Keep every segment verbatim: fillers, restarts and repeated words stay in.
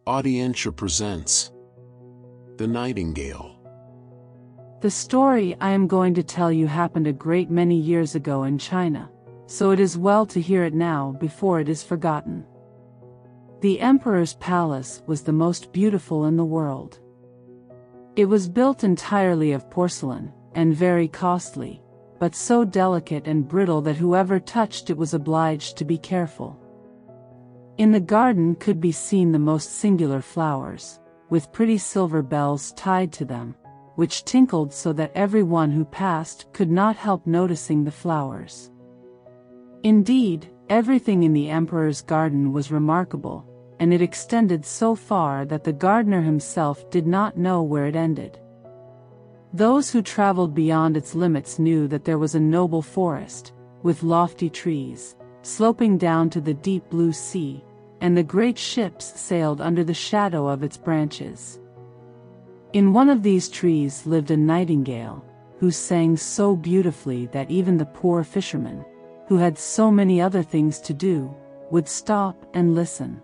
Audientia presents The Nightingale. The story I am going to tell you happened a great many years ago in China, so it is well to hear it now before it is forgotten. The emperor's palace was the most beautiful in the world. It was built entirely of porcelain, and very costly, but so delicate and brittle that whoever touched it was obliged to be careful. In the garden could be seen the most singular flowers, with pretty silver bells tied to them, which tinkled so that every one who passed could not help noticing the flowers. Indeed, everything in the emperor's garden was remarkable, and it extended so far that the gardener himself did not know where it ended. Those who traveled beyond its limits knew that there was a noble forest, with lofty trees, sloping down to the deep blue sea, and the great ships sailed under the shadow of its branches. In one of these trees lived a nightingale, who sang so beautifully that even the poor fishermen, who had so many other things to do, would stop and listen.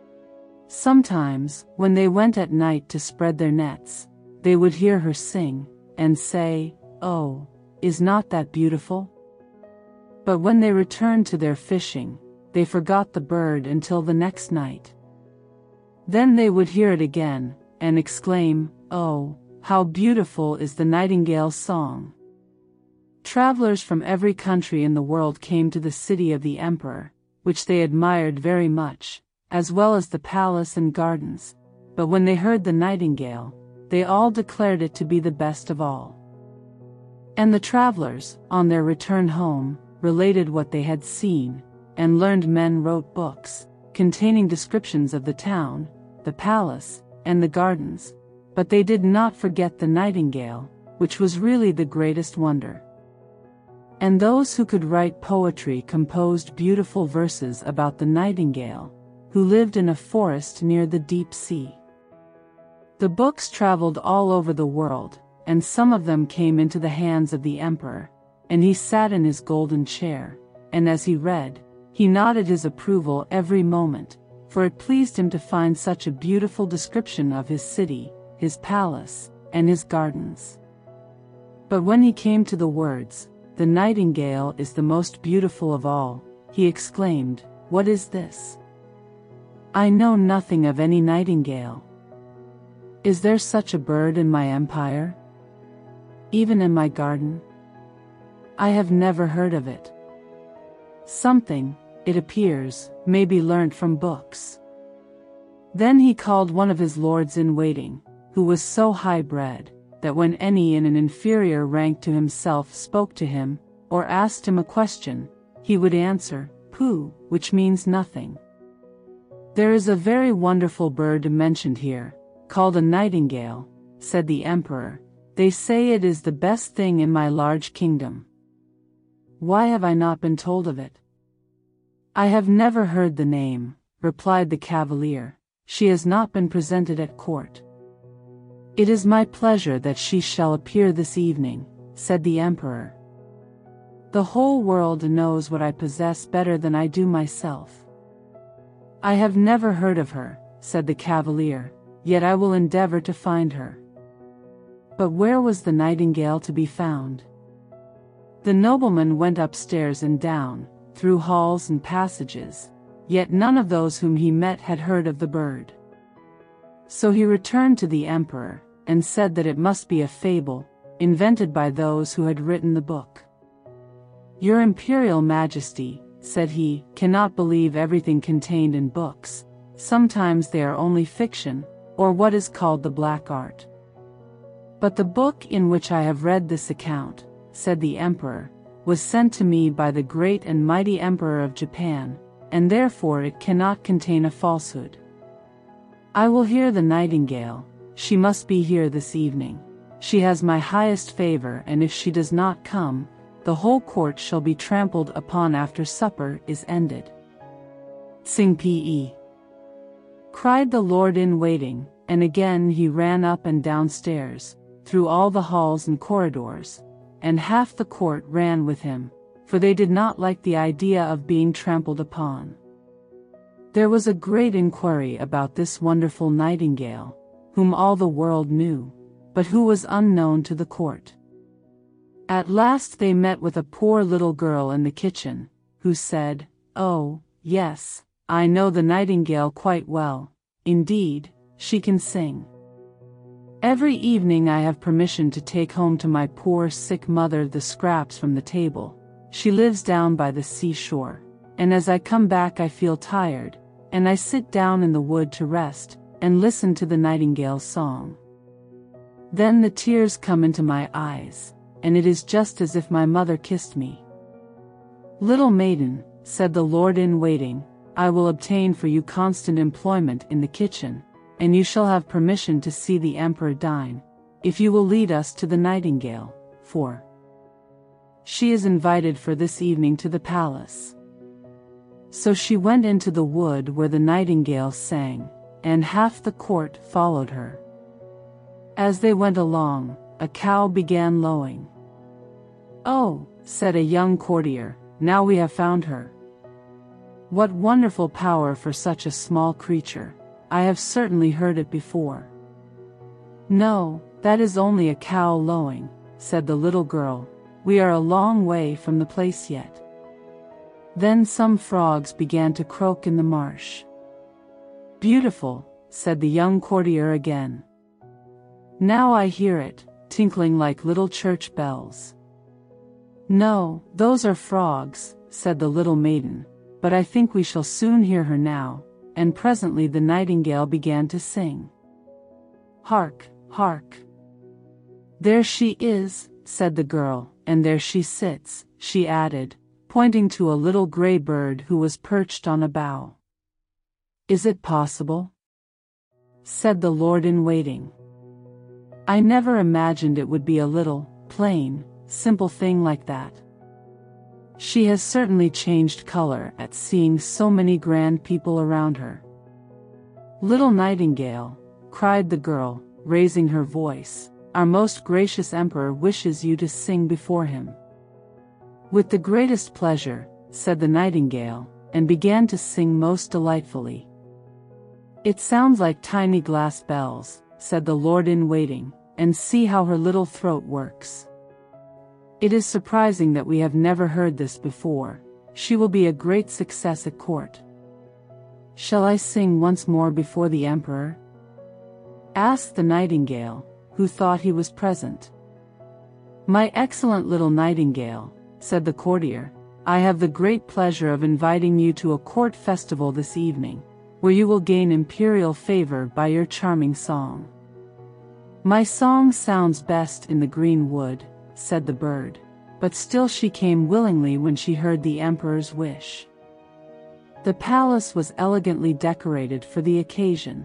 Sometimes, when they went at night to spread their nets, they would hear her sing, and say, "Oh, is not that beautiful?" But when they returned to their fishing, they forgot the bird until the next night. Then they would hear it again, and exclaim, "Oh, how beautiful is the nightingale's song!" Travelers from every country in the world came to the city of the emperor, which they admired very much, as well as the palace and gardens, but when they heard the nightingale, they all declared it to be the best of all. And the travelers, on their return home, related what they had seen, and learned men wrote books, containing descriptions of the town, the palace, and the gardens, but they did not forget the nightingale, which was really the greatest wonder. And those who could write poetry composed beautiful verses about the nightingale, who lived in a forest near the deep sea. The books traveled all over the world, and some of them came into the hands of the emperor, and he sat in his golden chair, and as he read, he nodded his approval every moment, for it pleased him to find such a beautiful description of his city, his palace, and his gardens. But when he came to the words, "The nightingale is the most beautiful of all," he exclaimed, "What is this? I know nothing of any nightingale. Is there such a bird in my empire? Even in my garden? I have never heard of it. Something, it appears, may be learnt from books." Then he called one of his lords-in-waiting, who was so high-bred, that when any in an inferior rank to himself spoke to him, or asked him a question, he would answer, "Pooh," which means nothing. "There is a very wonderful bird mentioned here, called a nightingale," said the emperor. "They say it is the best thing in my large kingdom. Why have I not been told of it?" "I have never heard the name," replied the cavalier. "She has not been presented at court." "It is my pleasure that she shall appear this evening," said the emperor. "The whole world knows what I possess better than I do myself." "I have never heard of her," said the cavalier, "yet I will endeavor to find her." But where was the nightingale to be found? The nobleman went upstairs and down, through halls and passages, yet none of those whom he met had heard of the bird. So he returned to the emperor, and said that it must be a fable, invented by those who had written the book. "Your Imperial Majesty," said he, "cannot believe everything contained in books. Sometimes they are only fiction, or what is called the black art. But the book in which I have read this account," said the emperor, "was sent to me by the great and mighty Emperor of Japan, and therefore it cannot contain a falsehood. I will hear the nightingale. She must be here this evening. She has my highest favor, and if she does not come, the whole court shall be trampled upon after supper is ended." "Sing Pe!" cried the lord-in-waiting, and again he ran up and downstairs, through all the halls and corridors, and half the court ran with him, for they did not like the idea of being trampled upon. There was a great inquiry about this wonderful nightingale, whom all the world knew, but who was unknown to the court. At last they met with a poor little girl in the kitchen, who said, "Oh, yes, I know the nightingale quite well. Indeed, she can sing. Every evening I have permission to take home to my poor sick mother the scraps from the table. She lives down by the seashore, and as I come back I feel tired, and I sit down in the wood to rest, and listen to the nightingale's song. Then the tears come into my eyes, and it is just as if my mother kissed me. Little maiden," said the lord-in-waiting, "I will obtain for you constant employment in the kitchen, and you shall have permission to see the emperor dine, if you will lead us to the nightingale, for she is invited for this evening to the palace." So she went into the wood where the nightingale sang, and half the court followed her. As they went along, a cow began lowing. "Oh," said a young courtier, "now we have found her. What wonderful power for such a small creature! I have certainly heard it before." "No, that is only a cow lowing," said the little girl. "We are a long way from the place yet." Then some frogs began to croak in the marsh. "Beautiful," said the young courtier again. "Now I hear it, tinkling like little church bells." "No, those are frogs," said the little maiden, "but I think we shall soon hear her now." And presently the nightingale began to sing. "Hark, hark! There she is," said the girl, "and there she sits," she added, pointing to a little gray bird who was perched on a bough. "Is it possible?" said the lord-in-waiting. "I never imagined it would be a little, plain, simple thing like that. She has certainly changed color at seeing so many grand people around her." "Little nightingale," cried the girl, raising her voice, "our most gracious emperor wishes you to sing before him." "With the greatest pleasure," said the nightingale, and began to sing most delightfully. "It sounds like tiny glass bells," said the lord-in-waiting, "and see how her little throat works. It is surprising that we have never heard this before. She will be a great success at court." "Shall I sing once more before the emperor?" asked the nightingale, who thought he was present. "My excellent little nightingale," said the courtier, "I have the great pleasure of inviting you to a court festival this evening, where you will gain imperial favor by your charming song." "My song sounds best in the green wood," said the bird, but still she came willingly when she heard the emperor's wish. The palace was elegantly decorated for the occasion.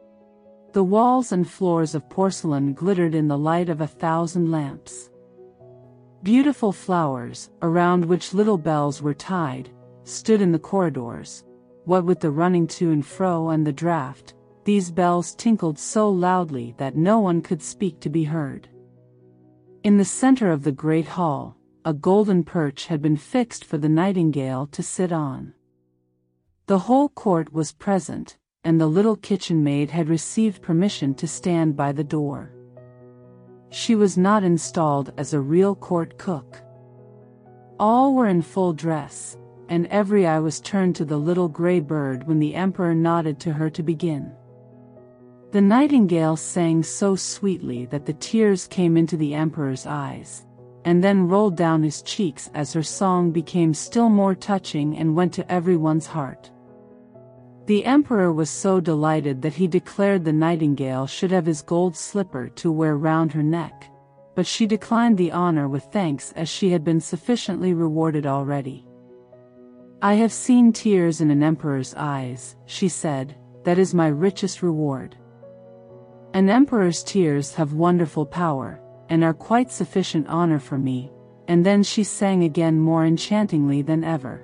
The walls and floors of porcelain glittered in the light of a thousand lamps. Beautiful flowers, around which little bells were tied, stood in the corridors. What with the running to and fro and the draught, these bells tinkled so loudly that no one could speak to be heard. In the center of the great hall, a golden perch had been fixed for the nightingale to sit on. The whole court was present, and the little kitchen maid had received permission to stand by the door. She was not installed as a real court cook. All were in full dress, and every eye was turned to the little gray bird when the emperor nodded to her to begin. The nightingale sang so sweetly that the tears came into the emperor's eyes, and then rolled down his cheeks as her song became still more touching and went to everyone's heart. The emperor was so delighted that he declared the nightingale should have his gold slipper to wear round her neck, but she declined the honor with thanks as she had been sufficiently rewarded already. "I have seen tears in an emperor's eyes," she said, "that is my richest reward. An emperor's tears have wonderful power, and are quite sufficient honor for me." And then she sang again more enchantingly than ever.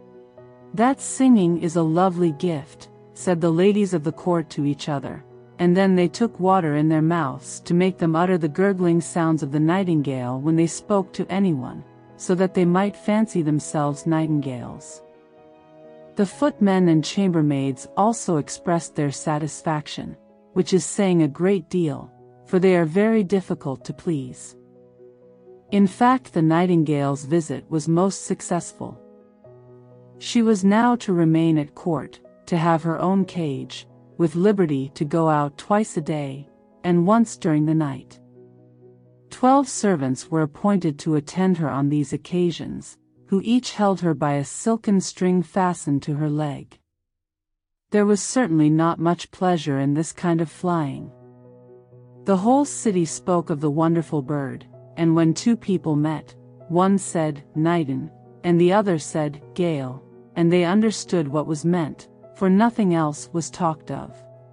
"That singing is a lovely gift," said the ladies of the court to each other, and then they took water in their mouths to make them utter the gurgling sounds of the nightingale when they spoke to anyone, so that they might fancy themselves nightingales. The footmen and chambermaids also expressed their satisfaction, which is saying a great deal, for they are very difficult to please. In fact, the nightingale's visit was most successful. She was now to remain at court, to have her own cage, with liberty to go out twice a day, and once during the night. Twelve servants were appointed to attend her on these occasions, who each held her by a silken string fastened to her leg. There was certainly not much pleasure in this kind of flying. The whole city spoke of the wonderful bird, and when two people met, one said, "Nightin," and the other said, "Gale," and they understood what was meant, for nothing else was talked of.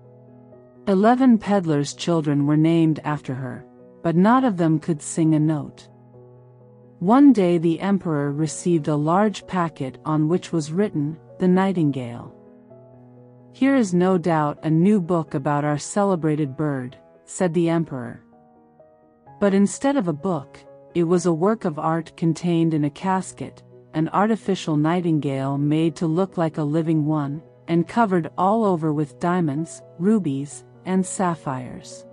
Eleven peddlers' children were named after her, but not of them could sing a note. One day the emperor received a large packet on which was written, "The Nightingale." "Here is no doubt a new book about our celebrated bird," said the emperor. But instead of a book, it was a work of art contained in a casket, an artificial nightingale made to look like a living one, and covered all over with diamonds, rubies, and sapphires.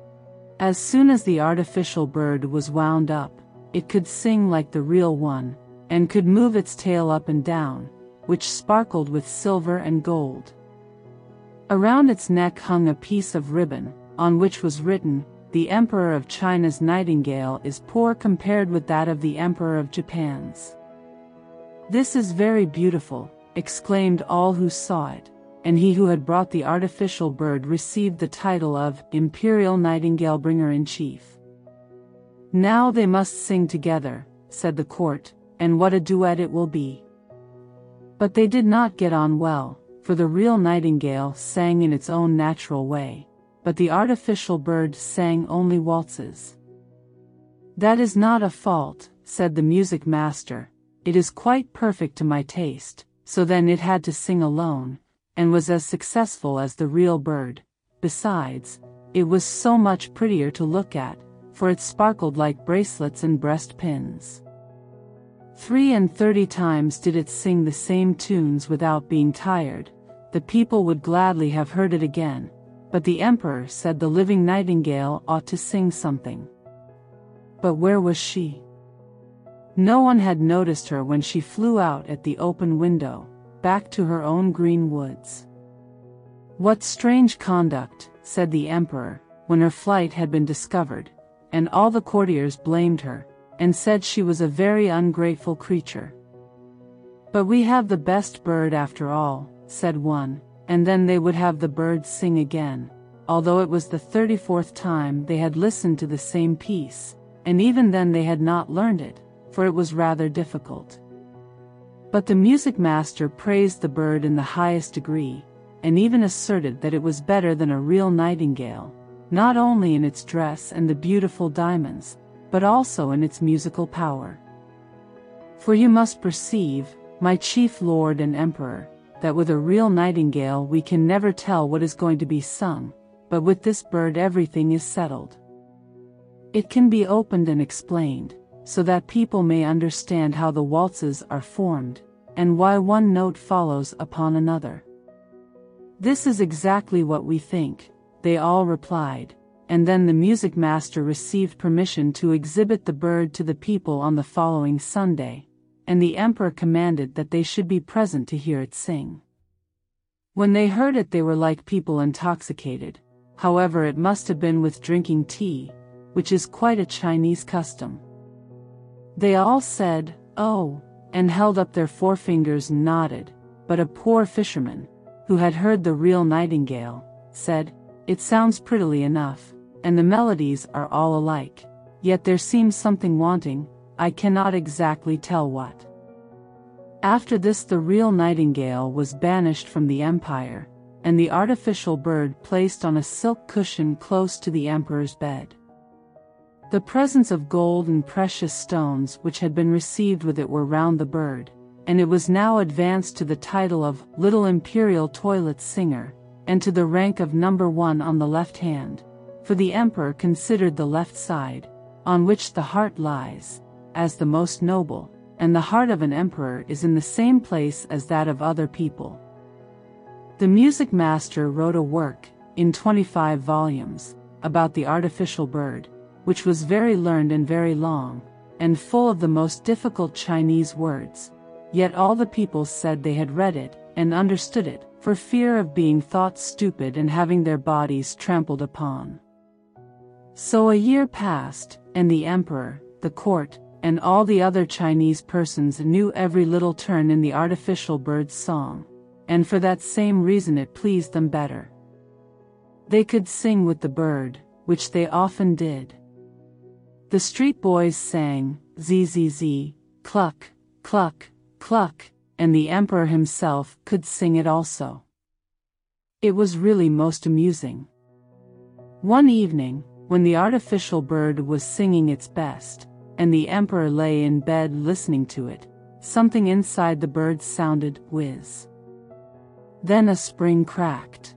As soon as the artificial bird was wound up, it could sing like the real one, and could move its tail up and down, which sparkled with silver and gold. Around its neck hung a piece of ribbon, on which was written, "The Emperor of China's nightingale is poor compared with that of the Emperor of Japan's." "This is very beautiful," exclaimed all who saw it, and he who had brought the artificial bird received the title of Imperial Nightingale Bringer-in-Chief. "Now they must sing together," said the court, "and what a duet it will be." But they did not get on well, for the real nightingale sang in its own natural way, but the artificial bird sang only waltzes. "That is not a fault," said the music master, "it is quite perfect to my taste." So then it had to sing alone, and was as successful as the real bird. Besides, it was so much prettier to look at, for it sparkled like bracelets and breast pins. Three and thirty times did it sing the same tunes without being tired. The people would gladly have heard it again, but the emperor said the living nightingale ought to sing something. But where was she? No one had noticed her when she flew out at the open window, back to her own green woods. "What strange conduct," said the emperor, when her flight had been discovered, and all the courtiers blamed her, and said she was a very ungrateful creature. "But we have the best bird after all," said one, and then they would have the bird sing again, although it was the thirty-fourth time they had listened to the same piece, and even then they had not learned it, for it was rather difficult. But the music master praised the bird in the highest degree, and even asserted that it was better than a real nightingale, not only in its dress and the beautiful diamonds, but also in its musical power. "For you must perceive, my chief lord and emperor, that with a real nightingale we can never tell what is going to be sung, but with this bird everything is settled. It can be opened and explained, so that people may understand how the waltzes are formed, and why one note follows upon another." "This is exactly what we think," they all replied, and then the music master received permission to exhibit the bird to the people on the following Sunday, and the emperor commanded that they should be present to hear it sing. When they heard it they were like people intoxicated. However, it must have been with drinking tea, which is quite a Chinese custom. They all said, "Oh," and held up their forefingers and nodded, but a poor fisherman, who had heard the real nightingale, said, "It sounds prettily enough, and the melodies are all alike, yet there seems something wanting, I cannot exactly tell what." After this the real nightingale was banished from the empire, and the artificial bird placed on a silk cushion close to the emperor's bed. The presents of gold and precious stones which had been received with it were round the bird, and it was now advanced to the title of Little Imperial Toilet Singer, and to the rank of number one on the left hand, for the emperor considered the left side, on which the heart lies, as the most noble, and the heart of an emperor is in the same place as that of other people. The music master wrote a work, in twenty-five volumes, about the artificial bird, which was very learned and very long, and full of the most difficult Chinese words, yet all the people said they had read it, and understood it, for fear of being thought stupid and having their bodies trampled upon. So a year passed, and the emperor, the court, and all the other Chinese persons knew every little turn in the artificial bird's song, and for that same reason it pleased them better. They could sing with the bird, which they often did. The street boys sang, zzz, cluck, cluck, cluck, and the emperor himself could sing it also. It was really most amusing. One evening, when the artificial bird was singing its best, and the emperor lay in bed listening to it, something inside the bird sounded whiz. Then a spring cracked.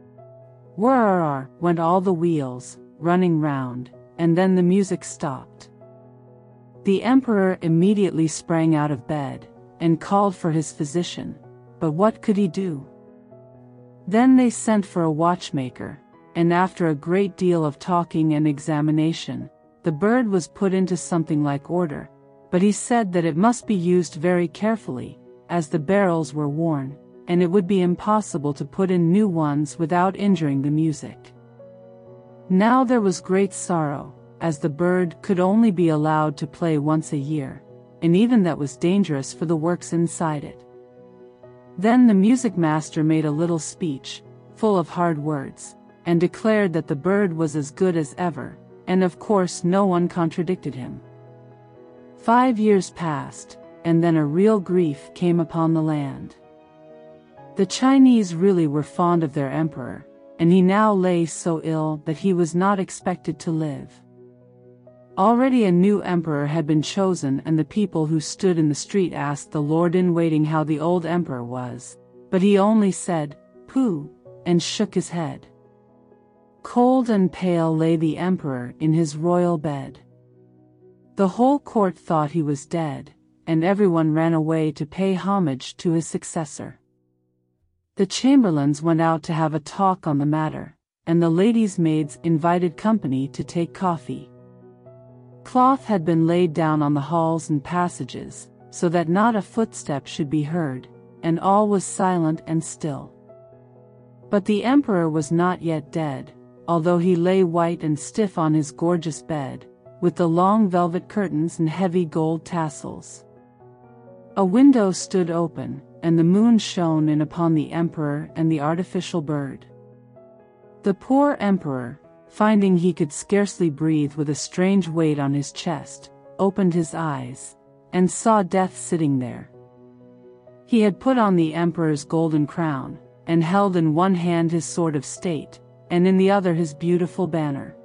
Whirr went all the wheels, running round, and then the music stopped. The emperor immediately sprang out of bed, and called for his physician, but what could he do? Then they sent for a watchmaker, and after a great deal of talking and examination, the bird was put into something like order, but he said that it must be used very carefully, as the barrels were worn, and it would be impossible to put in new ones without injuring the music. Now there was great sorrow, as the bird could only be allowed to play once a year, and even that was dangerous for the works inside it. Then the music master made a little speech, full of hard words, and declared that the bird was as good as ever, and of course no one contradicted him. Five years passed, and then a real grief came upon the land. The Chinese really were fond of their emperor, and he now lay so ill that he was not expected to live. Already a new emperor had been chosen, and the people who stood in the street asked the lord-in-waiting how the old emperor was, but he only said, "Pooh," and shook his head. Cold and pale lay the emperor in his royal bed. The whole court thought he was dead, and everyone ran away to pay homage to his successor. The chamberlains went out to have a talk on the matter, and the ladies' maids invited company to take coffee. Cloth had been laid down on the halls and passages, so that not a footstep should be heard, and all was silent and still. But the emperor was not yet dead, although he lay white and stiff on his gorgeous bed, with the long velvet curtains and heavy gold tassels. A window stood open, and the moon shone in upon the emperor and the artificial bird. The poor emperor, finding he could scarcely breathe with a strange weight on his chest, opened his eyes, and saw Death sitting there. He had put on the emperor's golden crown, and held in one hand his sword of state, and in the other his beautiful banner.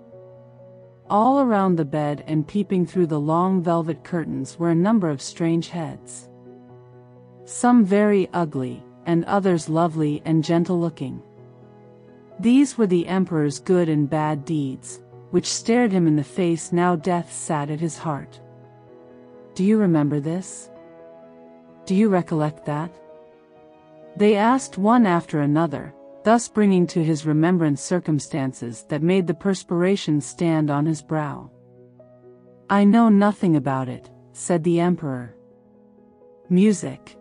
All around the bed and peeping through the long velvet curtains were a number of strange heads. Some very ugly, and others lovely and gentle-looking. These were the emperor's good and bad deeds, which stared him in the face. Now Death sat at his heart. Do you remember this? Do you recollect that? They asked one after another, thus bringing to his remembrance circumstances that made the perspiration stand on his brow. I know nothing about it, said the emperor. Music.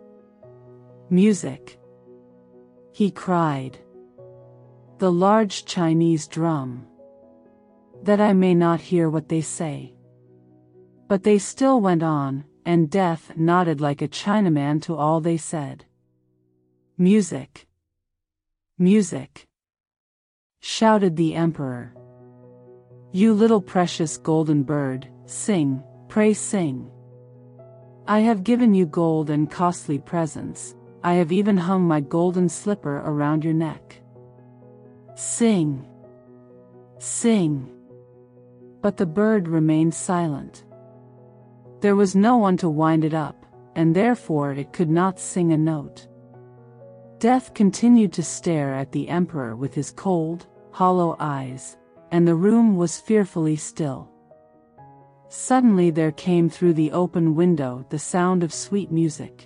Music. He cried. The large Chinese drum. That I may not hear what they say. But they still went on, and Death nodded like a Chinaman to all they said. Music. Music. Shouted the emperor. You little precious golden bird, sing, pray sing. I have given you gold and costly presents, I have even hung my golden slipper around your neck. Sing. Sing. But the bird remained silent. There was no one to wind it up, and therefore it could not sing a note. Death continued to stare at the emperor with his cold, hollow eyes, and the room was fearfully still. Suddenly there came through the open window the sound of sweet music.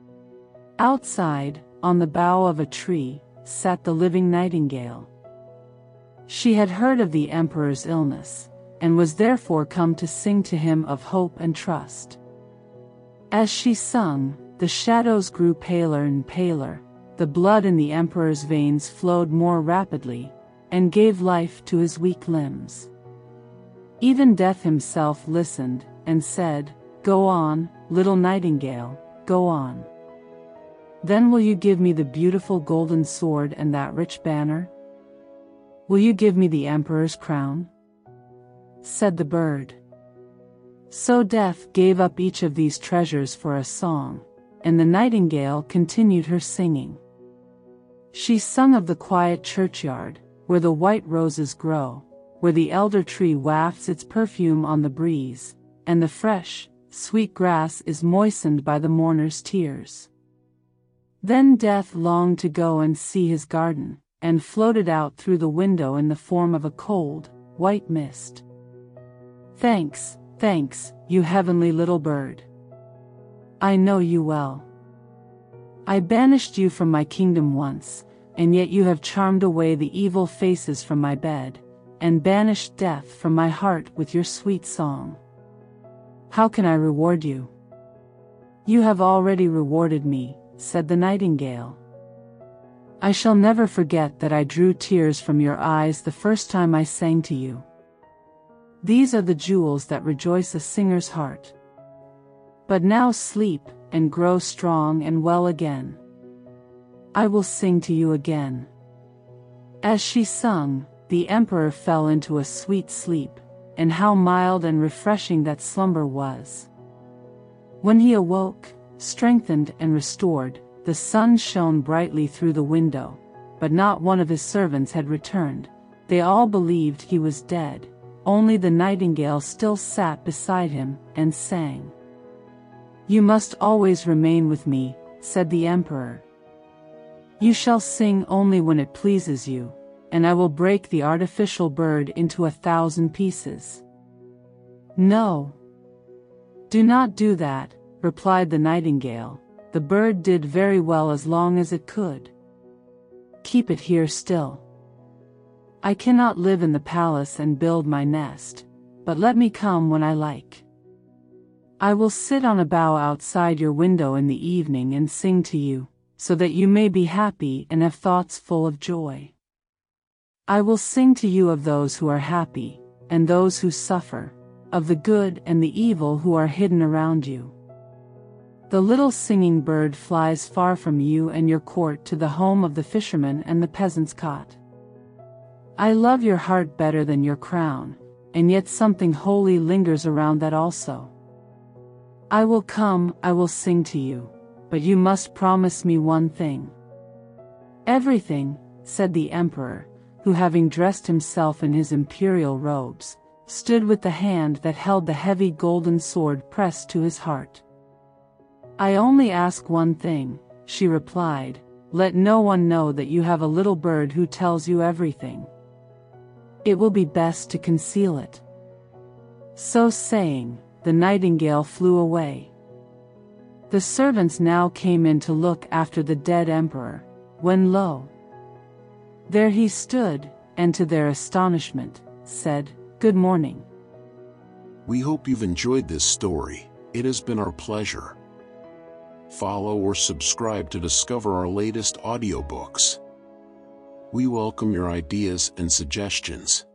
Outside, on the bough of a tree, sat the living nightingale. She had heard of the emperor's illness, and was therefore come to sing to him of hope and trust. As she sung, the shadows grew paler and paler, the blood in the emperor's veins flowed more rapidly, and gave life to his weak limbs. Even Death himself listened, and said, "Go on, little nightingale, go on. Then will you give me the beautiful golden sword and that rich banner? Will you give me the emperor's crown?" Said the bird. So Death gave up each of these treasures for a song, and the nightingale continued her singing. She sung of the quiet churchyard, where the white roses grow, where the elder tree wafts its perfume on the breeze, and the fresh, sweet grass is moistened by the mourner's tears. Then Death longed to go and see his garden, and floated out through the window in the form of a cold, white mist. "Thanks, thanks, you heavenly little bird. I know you well. I banished you from my kingdom once, and yet you have charmed away the evil faces from my bed, and banished death from my heart with your sweet song. How can I reward you?" "You have already rewarded me," said the nightingale. "I shall never forget that I drew tears from your eyes the first time I sang to you. These are the jewels that rejoice a singer's heart. But now sleep, and grow strong and well again. I will sing to you again." As she sung, the emperor fell into a sweet sleep, and how mild and refreshing that slumber was. When he awoke, strengthened and restored, the sun shone brightly through the window, but not one of his servants had returned. They all believed he was dead, only the nightingale still sat beside him, and sang. "You must always remain with me," said the emperor. "You shall sing only when it pleases you, and I will break the artificial bird into a thousand pieces." "No. Do not do that," replied the nightingale. "The bird did very well as long as it could. Keep it here still. I cannot live in the palace and build my nest, but let me come when I like. I will sit on a bough outside your window in the evening and sing to you, so that you may be happy and have thoughts full of joy. I will sing to you of those who are happy, and those who suffer, of the good and the evil who are hidden around you. The little singing bird flies far from you and your court to the home of the fisherman and the peasant's cot. I love your heart better than your crown, and yet something holy lingers around that also. I will come, I will sing to you, but you must promise me one thing." "Everything," said the emperor, who, having dressed himself in his imperial robes, stood with the hand that held the heavy golden sword pressed to his heart. "I only ask one thing," she replied. "Let no one know that you have a little bird who tells you everything. It will be best to conceal it." So saying, the nightingale flew away. The servants now came in to look after the dead emperor, when lo! there he stood, and to their astonishment, said, "Good morning." We hope you've enjoyed this story. It has been our pleasure. Follow or subscribe to discover our latest audiobooks. We welcome your ideas and suggestions.